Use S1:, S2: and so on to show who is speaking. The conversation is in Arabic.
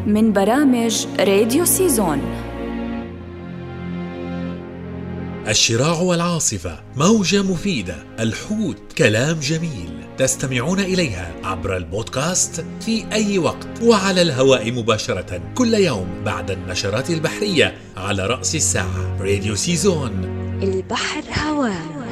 S1: من برامج راديو سيزون.
S2: الشراع والعاصفة، موجة مفيدة، الحوت، كلام جميل، تستمعون إليها عبر البودكاست في أي وقت وعلى الهواء مباشرة كل يوم بعد النشرات البحرية على رأس الساعة. راديو سيزون،
S1: البحر هواه.